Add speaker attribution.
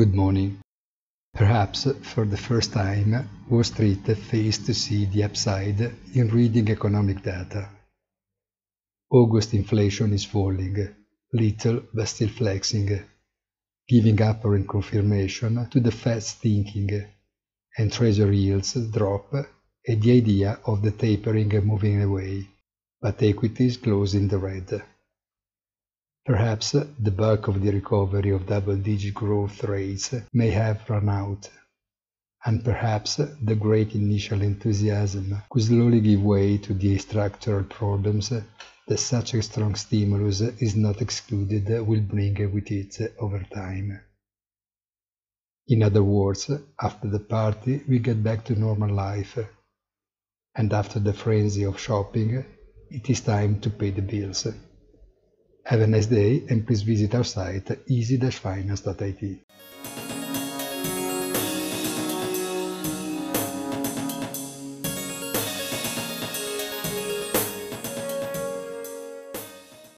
Speaker 1: Good morning. Perhaps for the first time, Wall Street faced to see the upside in reading economic data. August inflation is falling, little but still flexing, giving apparent confirmation to the Fed's thinking, and Treasury yields drop at the idea of the tapering moving away, but equities close in the red. Perhaps the bulk of the recovery of double-digit growth rates may have run out, and perhaps the great initial enthusiasm could slowly give way to the structural problems that such a strong stimulus is not excluded will bring with it over time. In other words, after the party we get back to normal life, and after the frenzy of shopping, it is time to pay the bills. Have a nice day and please visit our site easy-finance.it.